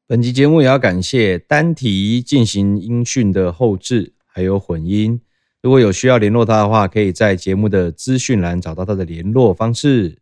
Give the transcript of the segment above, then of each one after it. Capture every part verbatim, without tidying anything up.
本集節目也要感謝單體進行音訊的後製，還有混音。如果有需要聯絡他的話，可以在節目的資訊欄找到他的聯絡方式。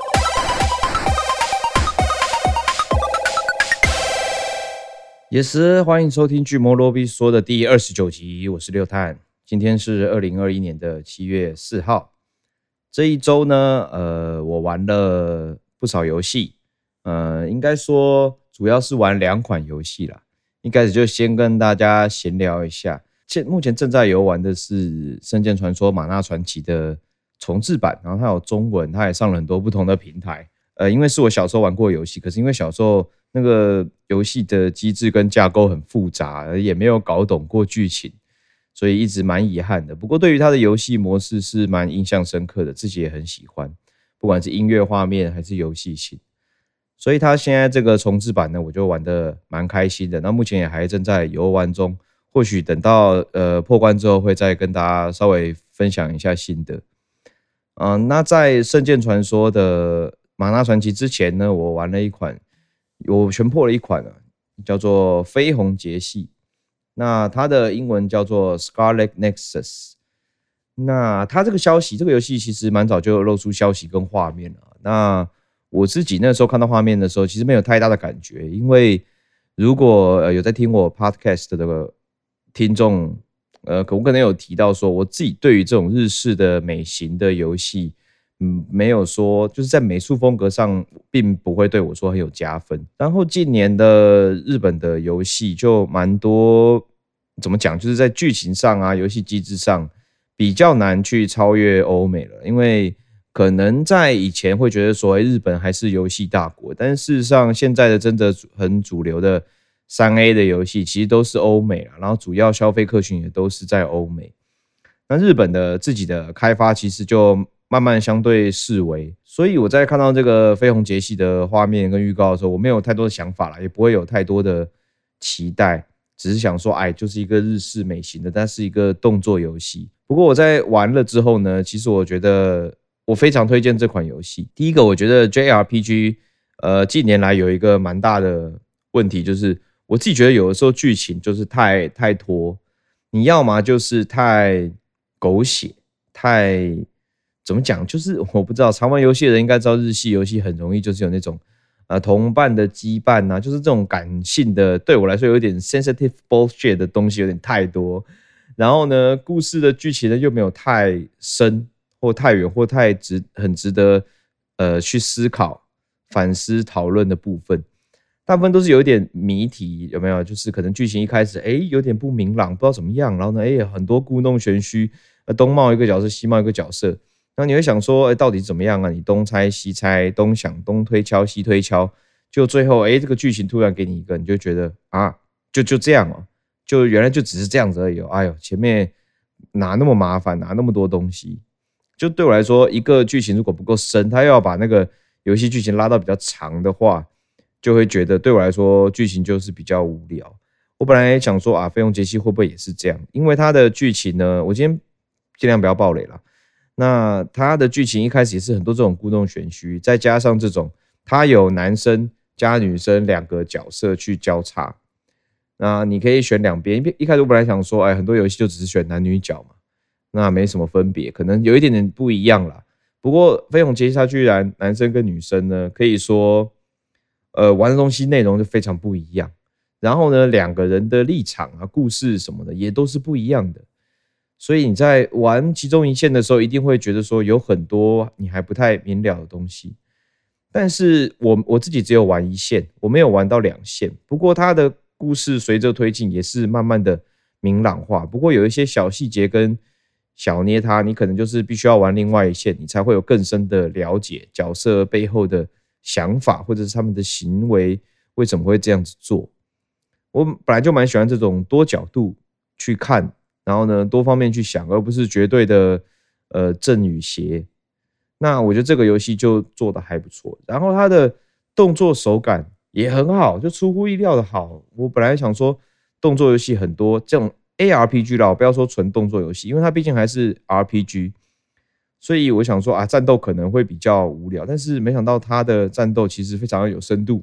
也是歡迎收聽《巨魔羅比說》的第二十九集，我是六探。今天是二零二一年的七月四號。這一周呢，呃，我玩了不少遊戲，呃，應該說。主要是玩兩款遊戲啦，一開始就先跟大家閒聊一下。現目前正在遊玩的是《聖劍傳說：瑪納傳奇》的重製版，然後它有中文，它也上了很多不同的平台。呃，因為是我小時候玩過的遊戲，可是因為小時候那個遊戲的機制跟架構很複雜，也沒有搞懂過劇情，所以一直蠻遺憾的。不過對於它的遊戲模式是蠻印象深刻的，自己也很喜歡，不管是音樂畫面還是遊戲性。所以他現在這個重製版呢，我就玩得蠻開心的。那目前也還正在遊玩中，或許等到呃破關之後，會再跟大家稍微分享一下心得。嗯、呃，那在《聖劍傳說》的《瑪納傳奇》之前呢，我玩了一款，我全破了一款啊，叫做《緋紅節系》。那它的英文叫做 Scarlet Nexus。那它這個消息，這個遊戲其實蠻早就有露出消息跟畫面了。那我自己那時候看到畫面的時候，其實沒有太大的感覺，因為如果有在聽我 podcast 的這個聽眾，呃，我可能有提到說，我自己對於這種日式的美型的遊戲，嗯，沒有說就是在美術風格上，並不會對我說很有加分。然後近年的日本的遊戲就蠻多，怎麼講，就是在劇情上啊，遊戲機制上比較難去超越歐美了，因為可能在以前會覺得說，日本還是遊戲大國，但事實上現在的真的很主流的三 A 的遊戲其實都是歐美啦，然後主要消費客群也都是在歐美。那日本的自己的開發其實就慢慢相對式微，所以我在看到這個緋紅節系的畫面跟預告的時候，我沒有太多的想法啦，也不會有太多的期待，只是想說，哎，就是一個日式美型的，但是一個動作遊戲。不過我在玩了之後呢，其實我覺得。我非常推薦這款遊戲。第一個，我覺得 J R P G， 呃，近年來有一個蠻大的問題，就是我自己覺得有的時候劇情就是太太拖，你要麼就是太狗血，太怎麼講，就是我不知道，常玩遊戲的人應該知道，日系遊戲很容易就是有那種呃同伴的羈絆啊，就是這種感性的，對我來說有點 sensitive bullshit 的東西有點太多。然後呢，故事的劇情呢又沒有太深。或太遠，或太值，很值得呃去思考、反思、討論的部分，大部分都是有一點謎題，有沒有？就是可能劇情一開始，哎，有點不明朗，不知道怎麼樣，然後呢，哎，很多故弄玄虛，東冒一個角色，西冒一個角色，然後你會想說，哎，到底怎麼樣啊？你東猜西猜，東想東推敲西推敲，就最後，哎，這個劇情突然給你一個，你就覺得啊，就就這樣哦，就原來就只是這樣子而已哦。哎呦，前面哪那麼麻煩，哪那麼多東西？就對我來說，一個劇情如果不夠深，他又要把那個遊戲劇情拉到比較長的話，就會覺得對我來說劇情就是比較無聊。我本來也想說啊，緋紅節系會不會也是這樣？因為它的劇情呢，我今天盡量不要爆雷啦。那它的劇情一開始也是很多這種故弄玄虛，再加上這種它有男生加女生兩個角色去交叉，那你可以選兩邊。一開始我本來想說，哎，很多遊戲就只是選男女角嘛。那沒什麼分別，可能有一點點不一樣啦。不過緋紅節系它居然男生跟女生呢，可以說，呃，玩的東西內容就非常不一樣。然後呢，兩個人的立場啊、故事什麼的也都是不一樣的。所以你在玩其中一線的時候，一定會覺得說有很多你還不太明了的東西。但是我我自己只有玩一線，我沒有玩到兩線。不過它的故事隨着推進也是慢慢的明朗化。不過有一些小細節跟小捏它，你可能就是必須要玩另外一線，你才會有更深的了解角色背後的想法，或者是他們的行為為什麼會這樣子做。我本來就蠻喜歡這種多角度去看，然後呢多方面去想，而不是絕對的呃正與邪。那我覺得這個遊戲就做得還不錯，然後它的動作手感也很好，就出乎意料的好。我本來想說動作遊戲很多這種。A R P G 啦，我不要說純動作遊戲，因為它畢竟還是 R P G， 所以我想說啊，戰鬥可能會比較無聊，但是沒想到它的戰鬥其實非常有深度。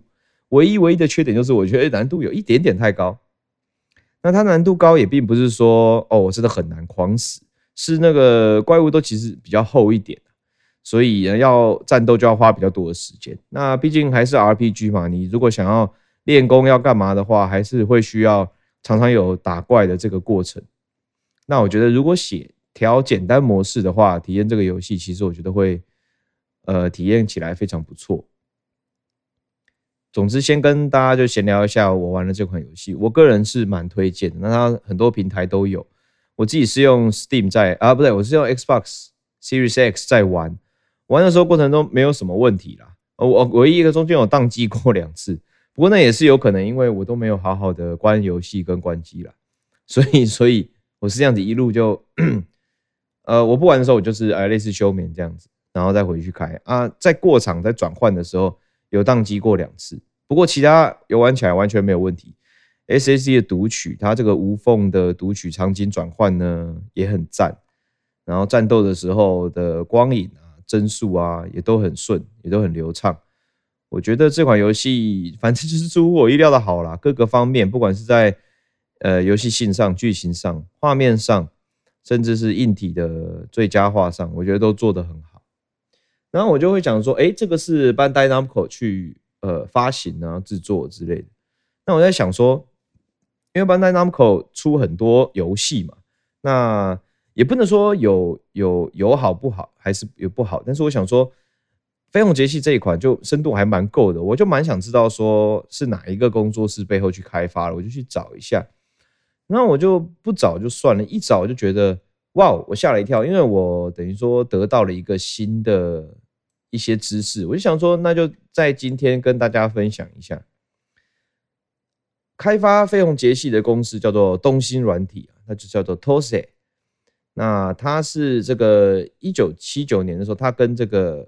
唯一唯一的缺點就是我覺得難度有一點點太高。那它難度高也並不是說哦我真的很難狂死，是那個怪物都其實比較厚一點，所以要戰鬥就要花比較多的時間。那畢竟還是 R P G 嘛，你如果想要練功要幹嘛的話，還是會需要常常有打怪的這個過程。那我覺得如果寫調簡單模式的話，體驗這個遊戲其實我覺得會呃體驗起來非常不錯。總之，先跟大家就閒聊一下我玩的這款遊戲，我個人是蠻推薦的。那它很多平台都有，我自己是用 Steam 在啊，不對，我是用 Xbox Series X 在玩。玩的時候過程中沒有什麼問題啦，我唯一一個中間有宕機過兩次，不過那也是有可能，因為我都沒有好好的關遊戲跟關機啦，所以所以我是這樣子一路就，呃，我不玩的時候我就是呃類似休眠這樣子，然後再回去開啊，在過場在轉換的時候。有宕機過兩次，不過其他遊玩起來完全沒有問題。S S D 的讀取，它這個無縫的讀取場景轉換呢也很讚，然後戰鬥的時候的光影啊、幀數啊也都很順，也都很流暢。我覺得這款遊戲反正就是出乎我意料的好啦，各個方面，不管是在呃遊戲性上、劇情上、畫面上，甚至是硬體的最佳化上，我覺得都做得很好。然後我就會講說，哎，這個是 Bandai Namco 去呃發行啊、製作之類的。那我在想說，因為 Bandai Namco 出很多遊戲嘛，那也不能說有有有好不好，還是有不好。但是我想說，緋紅節系這一款就深度還蠻夠的，我就蠻想知道說是哪一個工作室背後去開發了，我就去找一下。那我就不找就算了，一找我就覺得。哇，我嚇了一跳，因為我等於說得到了一個新的一些知識，我就想說，那就在今天跟大家分享一下。開發緋紅節系的公司叫做東星軟體，那就叫做 T O S E。那它是這個一九七九年的時候，它跟這個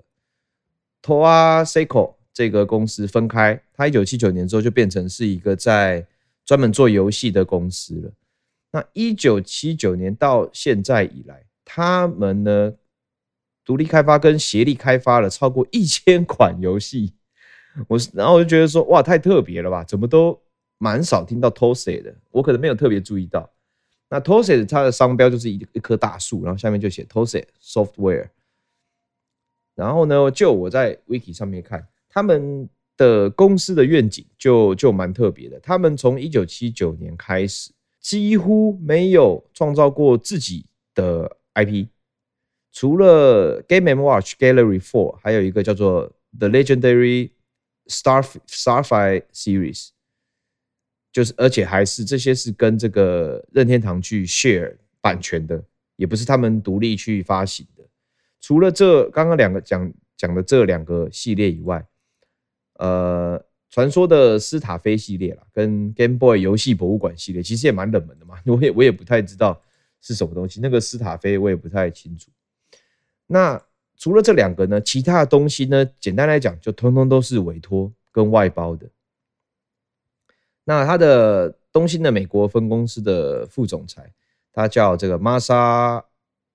Toa Seiko 這個公司分開，它一九七九年之後就變成是一個在專門做遊戲的公司了。那一九七九年到現在以來，他們呢獨立開發跟協力開發了超過一千款遊戲。我然後我就覺得說，哇，太特別了吧？怎麼都蠻少聽到 T O S E 的，我可能沒有特別注意到。那 T O S E 它的商標就是一一棵大樹，然後下面就寫 T O S E Software。然後呢，就我在 Wiki 上面看，他們的公司的願景就就蠻特別的。他們從一九七九年開始。幾乎沒有創造過自己的 I P， 除了 Game and Watch Gallery 四，還有一個叫做 The Legendary Star Starfire Series， 就是而且還是這些是跟這個任天堂去 share 版權的，也不是他們獨立去發行的。除了這剛剛兩個講講的這兩個系列以外，呃。傳說的斯塔菲系列啦，跟 Game Boy 遊戲博物館系列，其實也蠻冷門的嘛，我也我也不太知道是什麼東西。那個斯塔菲我也不太清楚。那除了這兩個呢，其他的東西呢，簡單來講，就通通都是委託跟外包的。那他的東星的美國分公司的副總裁，他叫這個 Masa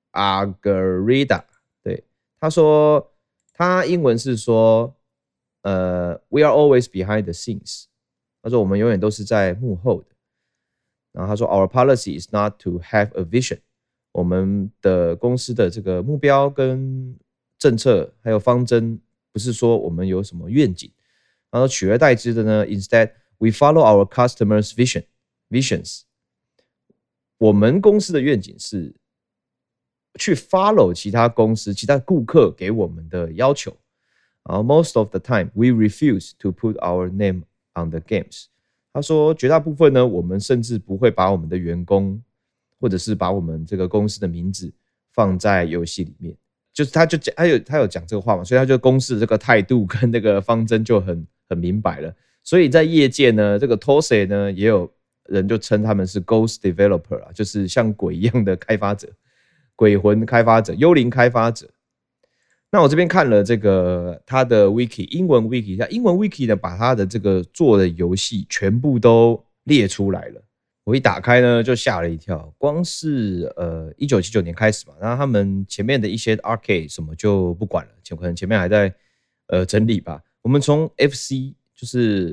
Agarida， 對，他說他英文是說。呃、uh, ，We are always behind the scenes。他說我們永遠都是在幕後的。然後他說 ，Our policy is not to have a vision。我們的公司的這個目標跟政策還有方針，不是說我們有什麼願景，然後取而代之的呢 ，Instead we follow our customers' vision visions。我們公司的願景是去 follow 其他公司、其他顧客給我們的要求。然後 most of the time we refuse to put our name on the games。他說絕大部分呢，我們甚至不會把我們的員工或者是把我們這個公司的名字放在遊戲裡面。就是他就講他有他有講這個話嘛，所以他就公司的這個態度跟那個方針就很很明白了。所以在業界呢，這個 T O S E 呢也有人就稱他們是 Ghost Developer 啊，就是像鬼一樣的開發者，鬼魂開發者、幽靈開發者。那我這邊看了這個他的 wiki 英文 wiki， 他英文 wiki 呢把他的這個做的遊戲全部都列出來了。我一打開呢就嚇了一跳，光是呃一九七九年開始嘛，然後他們前面的一些 arcade 什麼就不管了，前可能前面還在呃整理吧。我們從 F C 就是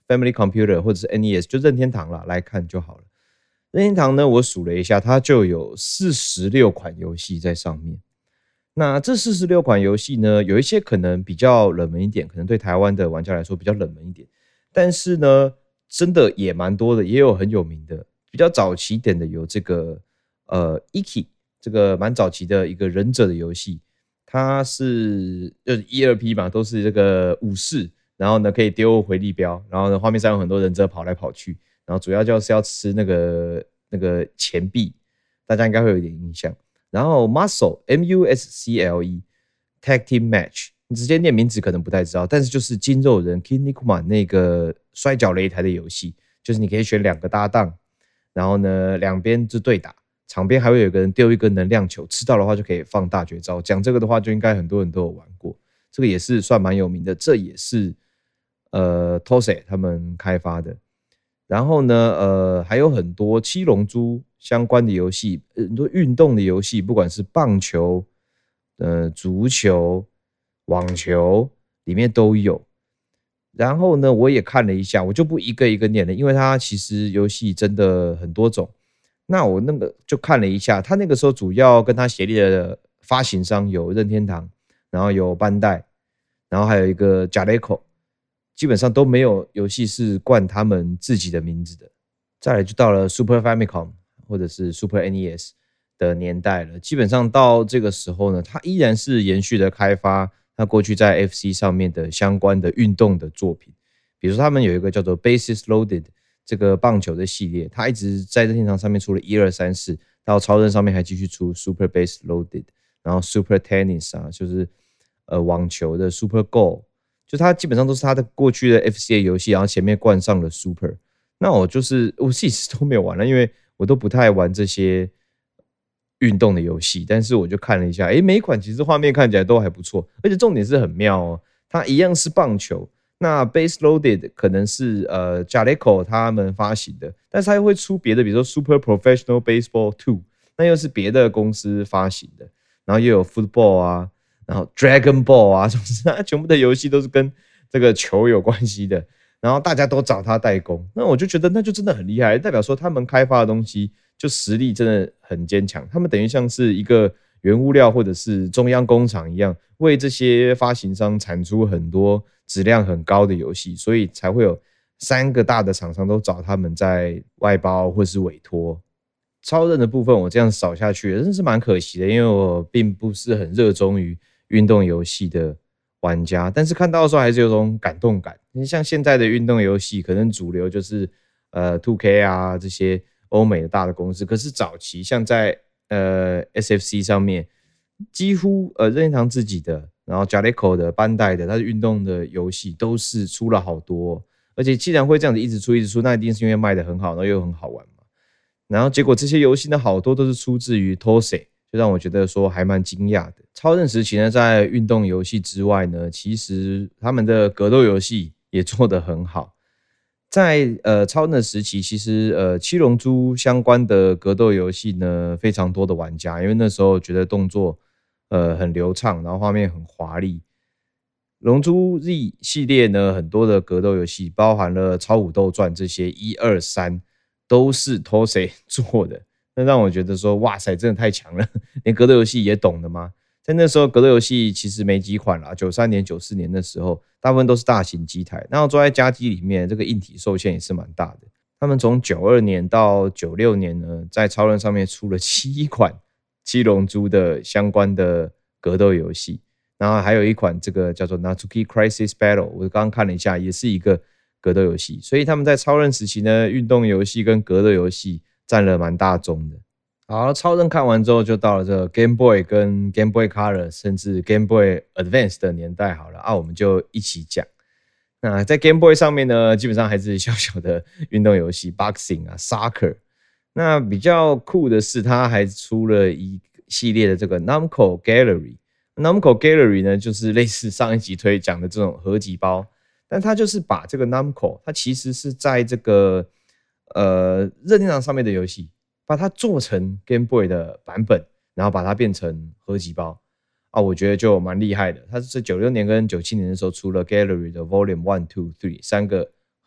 Family Computer 或者是 N E S 就任天堂啦來看就好了。任天堂呢，我數了一下，它就有四十六款遊戲在上面。那這四十六款遊戲呢，有一些可能比較冷門一點，可能對台灣的玩家來說比較冷門一點，但是呢，真的也蠻多的，也有很有名的。比較早期一點的有這個呃 Iki， 這個蠻早期的一個忍者的遊戲，它是就是一二 P 嘛，都是這個武士，然後呢可以丟回力鏢，然後呢畫面上有很多忍者跑來跑去，然後主要就是要吃那個那個錢幣，大家應該會有一點印象。然後 Muscle M U S C L E Tag Team Match， 你直接念名字可能不太知道，但是就是筋肉人 Kinnikuman 那個摔角擂台的遊戲，就是你可以選兩個搭檔，然後呢兩邊就對打，場邊還會有一個人丟一個能量球，吃到的話就可以放大絕招。講這個的話，就應該很多人都有玩過，這個也是算蠻有名的，這也是呃 Tosei 他們開發的。然後呢，呃，還有很多七龍珠相關的遊戲，很多運動的遊戲，不管是棒球、呃足球、網球，裡面都有。然後呢，我也看了一下，我就不一個一個念了，因為它其實遊戲真的很多種。那我那個就看了一下，它那個時候主要跟它協力的發行商有任天堂，然後有班代，然後還有一個 Jaleco。基本上都沒有遊戲是冠他們自己的名字的。再來就到了 Super Famicom 或者是 Super N E S 的年代了。基本上到這個時候呢，它依然是延續的開發它過去在 F C 上面的相關的運動的作品。比如說他們有一個叫做 Bases Loaded 這個棒球的系列，它一直在任天堂上面出了一二三四，到超任上面還繼續出 Super Base Loaded， 然後 Super Tennis 啊，就是呃網球的 Super Go。就它基本上都是它的過去的 F C 的遊戲，然後前面冠上了 Super。那我就是我自己都沒有玩了，因為我都不太玩這些運動的遊戲。但是我就看了一下，誒，每一款其實畫面看起來都還不錯，而且重點是很妙哦。它一樣是棒球，那 Base Loaded 可能是呃 Jaleco 他們發行的，但是它又會出別的，比如說 Super Professional Baseball 二，那又是別的公司發行的，然後又有 Football 啊。然後 Dragon Ball 啊，總之它全部的遊戲都是跟這個球有關係的，然後大家都找他代工，那我就覺得那就真的很厲害，代表說他們開發的東西就實力真的很堅強，他們等於像是一個原物料或者是中央工廠一樣，為這些發行商產出很多質量很高的遊戲，所以才會有三個大的廠商都找他們在外包或是委託。超任的部分我這樣掃下去真的是蠻可惜的，因為我並不是很熱衷於運動遊戲的玩家，但是看到的時候還是有種感動感。你像現在的運動遊戲，可能主流就是呃 two K 啊這些歐美的大的公司，可是早期像在呃 S F C 上面，幾乎呃任天堂自己的，然後 Jaleco 的、班代的，它的運動的遊戲都是出了好多哦，而且既然會這樣子一直出一直出，那一定是因為賣得很好，然後又很好玩嘛。然後結果這些遊戲呢，好多都是出自於 Tosei。就讓我覺得說還蠻驚訝的。超任時期呢，在運動遊戲之外呢，其實他們的格鬥遊戲也做得很好。在呃超任的時期，其實呃七龍珠相關的格鬥遊戲呢，非常多的玩家，因為那時候覺得動作呃很流暢，然後畫面很華麗。龍珠 Z 系列呢，很多的格鬥遊戲，包含了超武鬥傳這些一二三，都是 Tosei 做的。那讓我覺得說，哇塞，真的太強了，連格鬥遊戲也懂的嗎？在那時候，格鬥遊戲其實沒幾款啦，九三年、九四年的時候，大部分都是大型機台，然後坐在家機裡面，這個硬體受限也是蠻大的。他們從九二年到九六年呢，在超任上面出了七款七龍珠的相關的格鬥遊戲，然後還有一款這個叫做 Natsuki Crisis Battle， 我剛剛看了一下，也是一個格鬥遊戲。所以他們在超任時期呢，運動遊戲跟格鬥遊戲佔了蠻大宗的。好，超任看完之後，就到了這個 Game Boy 跟 Game Boy Color， 甚至 Game Boy Advance 的年代。好了啊，我們就一起講。那在 Game Boy 上面呢，基本上還是小小的運動遊戲 ，Boxing 啊 ，Soccer。那比較酷的是，它還出了一系列的這個 Namco Gallery。Namco Gallery 呢，就是類似上一集推講的這種合集包，但它就是把這個 Namco， 它其實是在這個呃任天堂上面的遊戲，把它做成 Game Boy 的版本，然後把它變成合集包啊，我覺得就蠻厲害的。它是在九六年跟九七年的時候出了 Gallery 的 Volume One、Two、Three 三個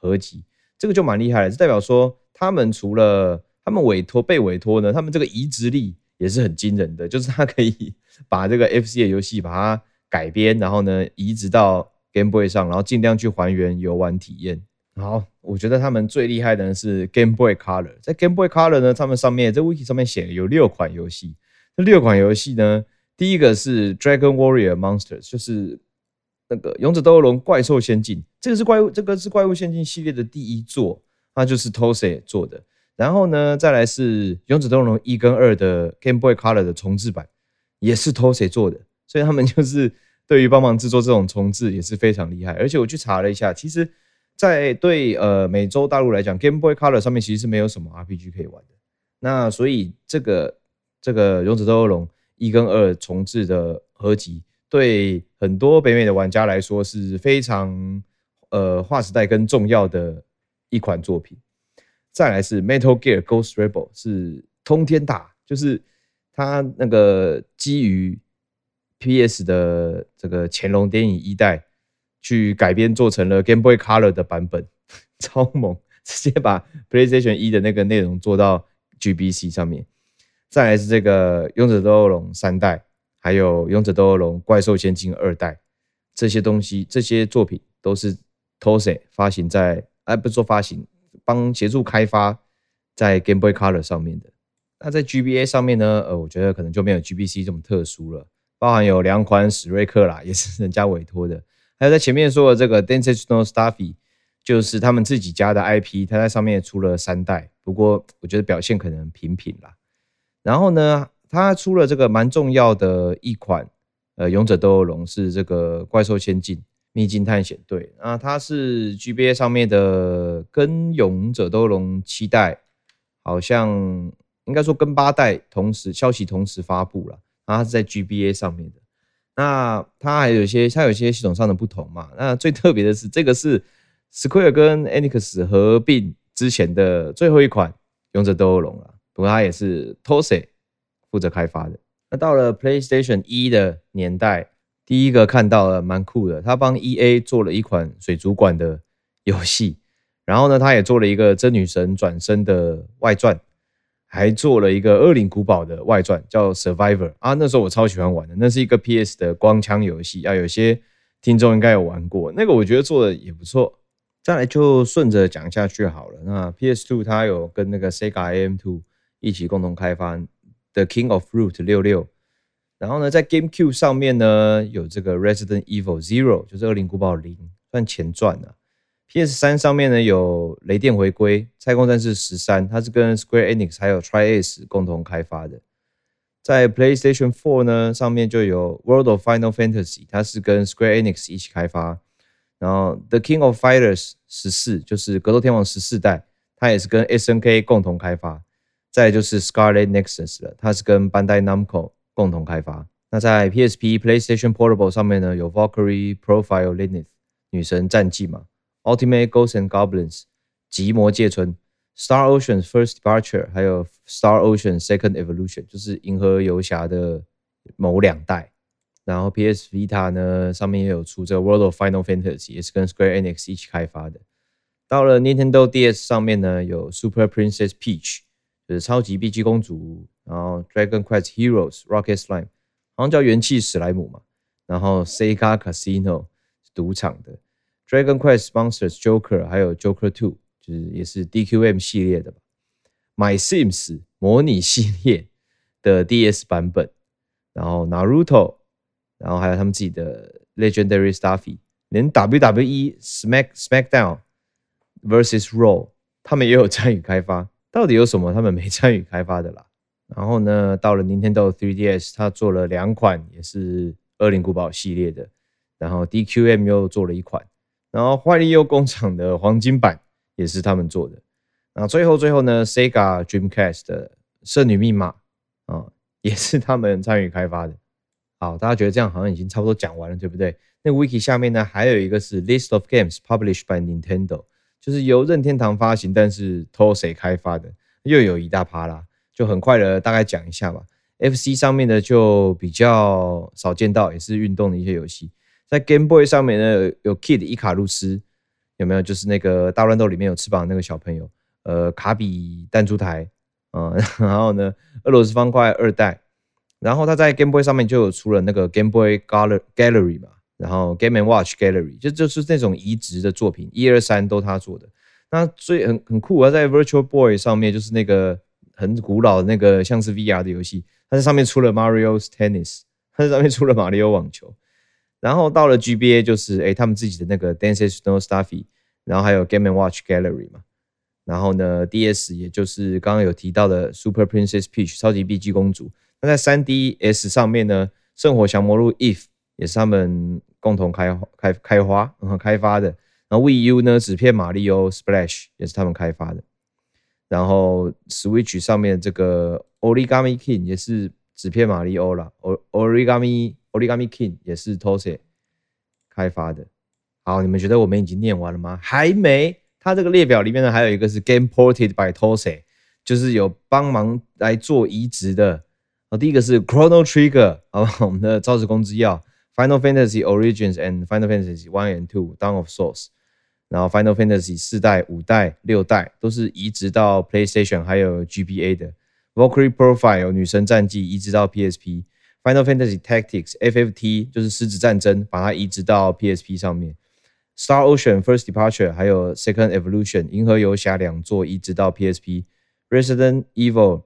合集，這個就蠻厲害的，這代表說他們除了他們委託被委託呢，他們這個移植力也是很驚人的，就是他可以把這個 F C 的遊戲把它改編，然後呢移植到 Game Boy 上，然後盡量去還原遊玩體驗。好，我覺得他們最厲害的呢是 Game Boy Color， 在 Game Boy Color 呢，他們上面在 Wiki 上面寫有六款遊戲，這六款遊戲呢，第一個是 Dragon Warrior Monsters， 就是那個勇者鬥惡龍怪獸仙境，這個是怪物，這個是怪物仙境系列的第一作，它就是 Toei 做的。然後呢，再來是勇者鬥惡龍一跟二的 Game Boy Color 的重製版，也是 Toei 做的，所以他們就是對於幫忙制作這種重製也是非常厲害。而且我去查了一下，其實在對呃美洲大陸來講 ，Game Boy Color 上面其實是沒有什麼 R P G 可以玩的。那所以這個這個勇者鬥惡龍一跟二重製的合集，對很多北美的玩家來說是非常呃劃時代跟重要的一款作品。再來是 Metal Gear Ghost Rebel， 是通天打，就是它那個基於 P S 的這個潛龍諜影一代去改編做成了 Game Boy Color 的版本，超猛，直接把 PlayStation 一的那個內容做到 G B C 上面。再來是這個勇者鬥惡龍三代，還有勇者鬥惡龍怪獸仙境二代，這些東西这些作品都是 Toei 發行在，哎，不是說發行，幫協助開發在 Game Boy Color 上面的。那在 G B A 上面呢，呃，我覺得可能就沒有 G B C 這麼特殊了，包含有兩款史瑞克啦，也是人家委託的，還有在前面說的這個 Densetsu no Starfy， 就是他們自己家的 I P， 它在上面也出了三代，不過我覺得表現可能平平啦。然後呢，它出了這個蠻重要的一款呃勇者鬥惡龍，是這個怪獸仙境秘境探險隊，那它是 G B A 上面的，跟勇者鬥惡龍七代好像應該說跟八代同時消息同時發布了，然後它是在 G B A 上面的。那它還有一些它有一些系統上的不同嘛，那最特別的是這個是 Square 跟 Enix 合併之前的最後一款勇者鬥惡龍了，不過它也是 Toei 負責開發的。那到了 PlayStation 一的年代，第一個看到了蠻酷的，他幫 E A 做了一款水族館的遊戲，然後呢，他也做了一個真女神轉生的外傳，還做了一個惡靈古堡的外傳，叫 Survivor 啊。那時候我超喜歡玩的，那是一個 P S 的光槍遊戲啊，有些聽眾應該有玩過，那個我覺得做的也不錯。再來就順着講下去好了。那 P S 二 它有跟那個 Sega A M 二 一起共同開發 The King of Fruit 六六。然後呢，在 GameCube 上面呢，有這個 Resident Evil Zero， 就是惡靈古堡零，算前傳啊。P S 三 上面呢有雷電回歸、太空戰士十三，它是跟 Square Enix 還有 Tri-Ace 共同開發的。在 PlayStation 四呢上面就有 World of Final Fantasy， 它是跟 Square Enix 一起開發。然後 The King of Fighters 十四，就是格鬥天王十四代，它也是跟 S N K 共同開發。再來就是 Scarlet Nexus 了，它是跟 Bandai Namco 共同開發。那在 P S P、PlayStation Portable 上面呢，有 Valkyrie Profile Lilith 女神戰記嘛 ，Ultimate Ghosts and Goblins 極魔界村 ，Star Ocean First Departure， 還有 Star Ocean Second Evolution， 就是銀河遊俠的某兩代。然後 P S Vita 呢上面也有出這個 World of Final Fantasy， 也是跟 Square Enix 一起開發的。到了 Nintendo D S 上面呢，有 Super Princess Peach， 就是超級碧姬公主。然後 Dragon Quest Heroes、Rocket Slime， 好像叫元氣史萊姆嘛。然後 Sega Casino 賭場的 Dragon Quest Monsters Joker， 還有 Joker 二，就是也是 D Q M 系列的吧。My Sims 模擬系列的 D S 版本，然後 Naruto， 然後還有他們自己的 Legendary Starfy， 連 W W E Smack Smackdown versus Raw 他們也有參與開發。到底有什麼他們沒參與開發的啦？然後呢，到了 Nintendo 三 D S， 他做了兩款也是惡靈古堡系列的，然後 D Q M 又做了一款，然後壞利誘工廠的黃金版也是他們做的。然後最後最後呢 ，Sega Dreamcast 的聖女密碼啊、哦，也是他們參與開發的。好，大家覺得這樣好像已經差不多講完了，對不對？那個 Wiki 下面呢，還有一個是 List of Games Published by Nintendo， 就是由任天堂發行，但是 Toei 開發的，又有一大趴啦。就很快的大概講一下吧。F C 上面的就比較少見到，也是運動的一些遊戲。在 Game Boy 上面呢，有 Kid 伊卡路斯， 有沒有？就是那個大亂鬥裡面有翅膀的那個小朋友，呃，卡比彈珠台，嗯、呃，然後呢，俄羅斯方塊二代，然後他在 Game Boy 上面就有出了那個 Game Boy Gallery 嘛，然後 Game and Watch Gallery 就就是那種移植的作品，一二三都他做的。那所以很很酷啊，在 Virtual Boy 上面就是那個很古老的那個像是 V R 的遊戲，它在上面出了 Mario's Tennis， 它在上面出了馬里奧網球。然後到了 G B A 就是哎他們自己的那個 Dances No Stuffy， 然後還有 Game and Watch Gallery 嘛。然後呢 D S 也就是剛剛有提到的 Super Princess Peach 超級碧姬公主。那在 三 D S 上面呢，聖火降魔錄 Eve 也是他們共同開開開發、嗯、開發的。然後 Wii U 呢，紙片馬里奧 Splash 也是他們開發的。然後 Switch 上面這個 Origami King 也是紙片馬里奧啦 ，Origami Origami King 也是 Tosse 開發的。好，你們覺得我們已經念完了嗎？還沒。它這個列表裡面呢，還有一個是 Game Ported by Tosse， 就是有幫忙來做移植的。第一個是 Chrono Trigger， 我們的招式弓之鑰 Final Fantasy Origins and Final Fantasy one and two Dawn of Souls， 然後 Final Fantasy 四代、五代、六代都是移植到 PlayStation 還有 G B A 的。Valkyrie Profile 女神戰記移植到 P S P，Final Fantasy Tactics F F T 就是獅子戰爭，把它移植到 P S P 上面。Star Ocean First Departure 還有 Second Evolution 銀河遊俠兩作移植到 P S P。Resident Evil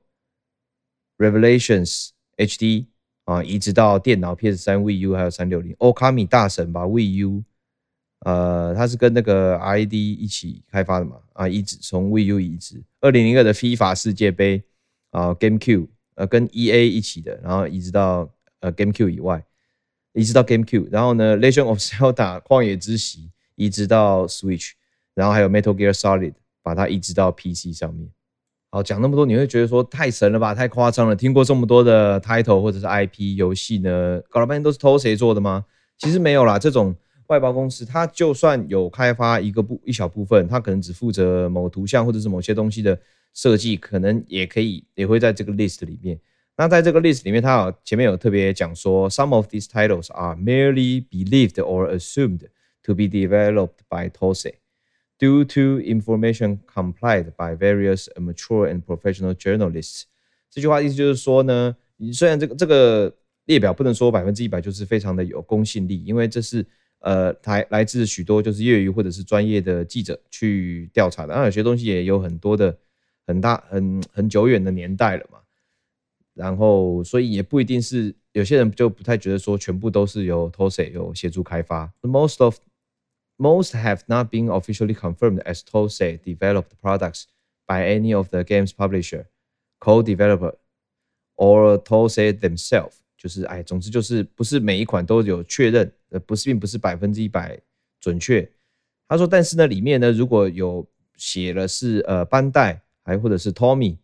Revelations H D 啊移植到電腦 P S 三 Wii U 還有三六零。Okami 大神吧 Wii U， 呃，它是跟那個 R A D 一起開發的嘛啊，移植從 Wii U 移植。二零零二的 FIFA 世界盃啊 GameCube 呃跟 E A 一起的，然後移植到呃 GameCube 以外，移植到 GameCube。然後呢 Legend of Zelda 曠野之息移植到 Switch， 然後還有 Metal Gear Solid 把它移植到 P C 上面。好，講那麼多，你會覺得說太神了吧，太誇張了。聽過這麼多的 title 或者是 I P 遊戲呢，搞了半天都是Tosse做的嗎？其實沒有啦，這種外包公司，它就算有開發一個部一小部分，它可能只負責某圖像或者是某些東西的設計，可能也可以也會在這個 list 裡面。那在這個 list 裡面，它有前面有特別講說 ，some of these titles are merely believed or assumed to be developed by Tosse。Due to information compiled by various amateur and professional journalists， 這句話意思就是說呢，雖然這個這個列表不能說百分之一百就是非常的有公信力，因為這是呃來來自許多就是業餘或者是專業的記者去調查的，那有些東西也有很多的很大很很久遠的年代了嘛，然後所以也不一定是有些人就不太覺得說全部都是由 Tosse 有協助開發 ，most of Most have not been officially confirmed as Tosse developed products by any of the game's publisher, co-developer, or Tosse themselves. 就是哎，總之就是不是每一款都有確認，呃，不是，並不是百分之一百準確。他說，但是呢，裡面呢如果有寫了是呃班代，還或者是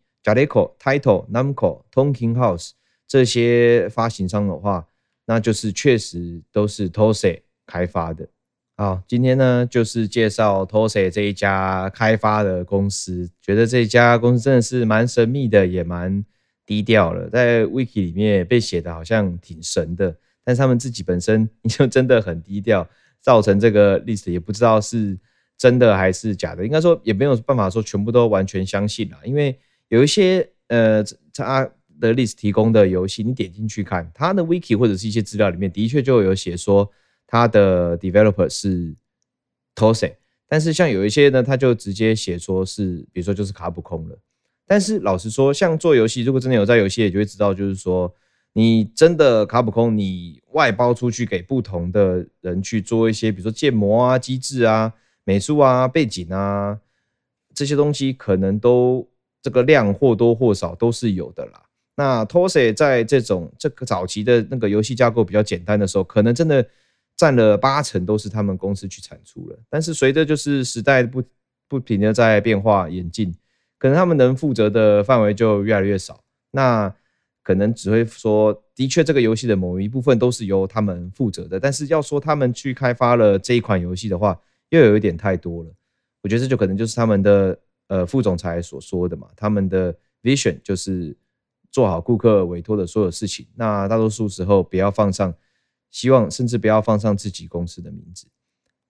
Tommy、Jaleco、Taito、Namco、Tonkin House 這些發行商的話，那就是確實都是 Tosse 開發的。好，今天呢就是介紹 Tosse 這一家開發的公司，覺得這一家公司真的是蠻神秘的，也蠻低調了。在 Wiki 裡面被寫的好像挺神的，但是他們自己本身就真的很低調，造成這個 list 也不知道是真的還是假的。應該說也沒有辦法說全部都完全相信啦，因為有一些呃他的 list 提供的遊戲，你點進去看他的 Wiki 或者是一些資料裡面，的確就有寫說。他的 developer 是 Tosse， 但是像有一些呢，他就直接寫說是，比如說就是卡普空了。但是老實說，像做遊戲，如果真的有在遊戲，也就會知道，就是說你真的卡普空，你外包出去給不同的人去做一些，比如說建模啊、機制啊、美術啊、背景啊這些東西，可能都這個量或多或少都是有的啦。那 Tosse 在這種這個早期的那個遊戲架構比較簡單的時候，可能真的。佔了八成都是他們公司去產出了，但是隨着就是時代不不停的在變化演進，可能他們能負責的範圍就越來越少。那可能只會說，的確這個遊戲的某一部分都是由他們負責的，但是要說他們去開發了這一款遊戲的話，又有一點太多了。我覺得這就可能就是他們的呃副總裁所說的嘛，他們的 vision 就是做好顧客委託的所有事情，那大多數時候不要放上。希望甚至不要放上自己公司的名字。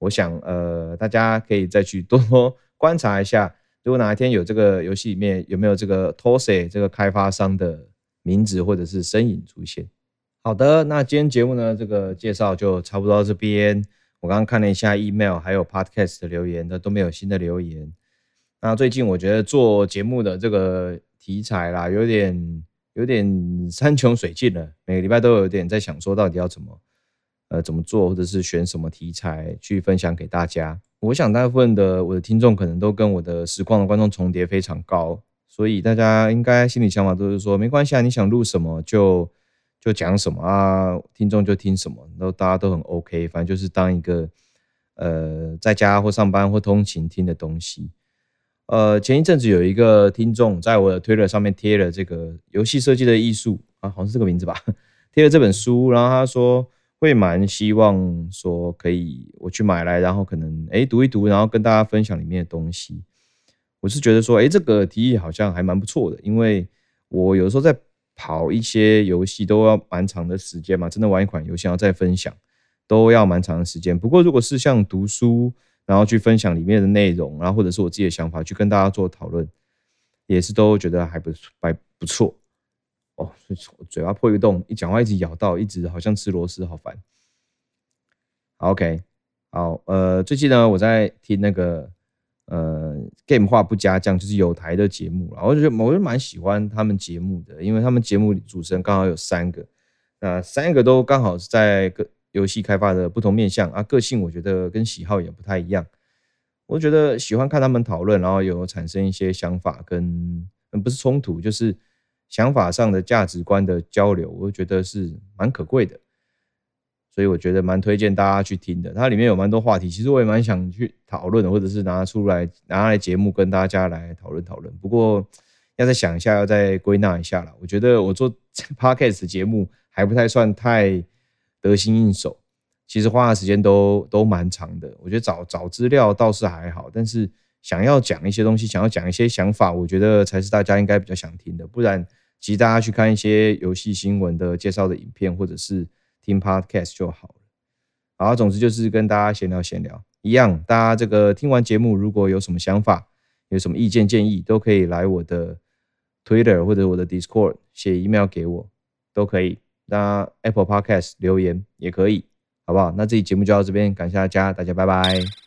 我想呃大家可以再去多多觀察一下，如果哪一天有這個遊戲裡面有沒有這個 Tosse 這個開發商的名字或者是身影出現。好的，那今天節目呢，這個介紹就差不多到這邊。我剛剛看了一下 email 還有 podcast 的留言，都沒有新的留言。那最近我覺得做節目的這個題材啦，有點有點山窮水盡了，每個禮拜都有點在想說到底要怎麼呃怎麼做，或者是選什麼題材去分享給大家。我想大部分的我的聽眾可能都跟我的實況的觀眾重疊非常高，所以大家應該心裡想法都是說，沒關係啊，你想錄什麼就就講什麼啊，聽眾就聽什麼，然後大家都很 OK， 反正就是當一個呃在家或上班或通勤聽的東西。呃，前一陣子有一個聽眾在我的 Twitter 上面貼了這個遊戲設計的藝術啊，好像是這個名字吧，貼了這本書，然後他說會蠻希望說可以我去買來，然後可能哎讀一讀，然後跟大家分享裡面的東西。我是覺得說，哎，這個提議好像還蠻不錯的，因為我有時候在跑一些遊戲都要蠻長的時間嘛，真的玩一款遊戲要再分享都要蠻長的時間。不過如果是像讀書，然後去分享裡面的內容，然後或者是我自己的想法，去跟大家做討論，也是都覺得還不還不錯哦。嘴巴破一個洞，一講話一直咬到，一直好像吃螺絲，好煩。好 OK， 好，呃，最近呢我在聽那個呃 Game 話不加醬，就是有台的節目，然後我就覺得我就蠻喜歡他們節目的，因為他們節目主持人剛好有三個，那三個都剛好是在個遊戲開發的不同面向啊，個性我覺得跟喜好也不太一樣。我覺得喜歡看他們討論，然後有產生一些想法跟不是衝突，就是想法上的價值觀的交流，我覺得是蠻可貴的。所以我覺得蠻推薦大家去聽的。它裡面有蠻多話題，其實我也蠻想去討論的，或者是拿出來拿來節目跟大家來討論討論。不過要再想一下，要再歸納一下啦。我覺得我做 Podcast 節目還不太算太得心應手，其實花的時間都都蠻長的。我覺得找找資料倒是還好，但是想要講一些東西，想要講一些想法，我覺得才是大家應該比較想聽的。不然，其實大家去看一些遊戲新聞的介紹的影片，或者是聽 Podcast 就好了。好，總之就是跟大家閒聊閒聊一樣。大家這個聽完節目，如果有什麼想法，有什麼意見建議，都可以來我的 Twitter 或者我的 Discord 寫 email 給我，都可以。那 Apple Podcast 留言也可以，好不好？那這期節目就到這邊，感謝大家，大家拜拜。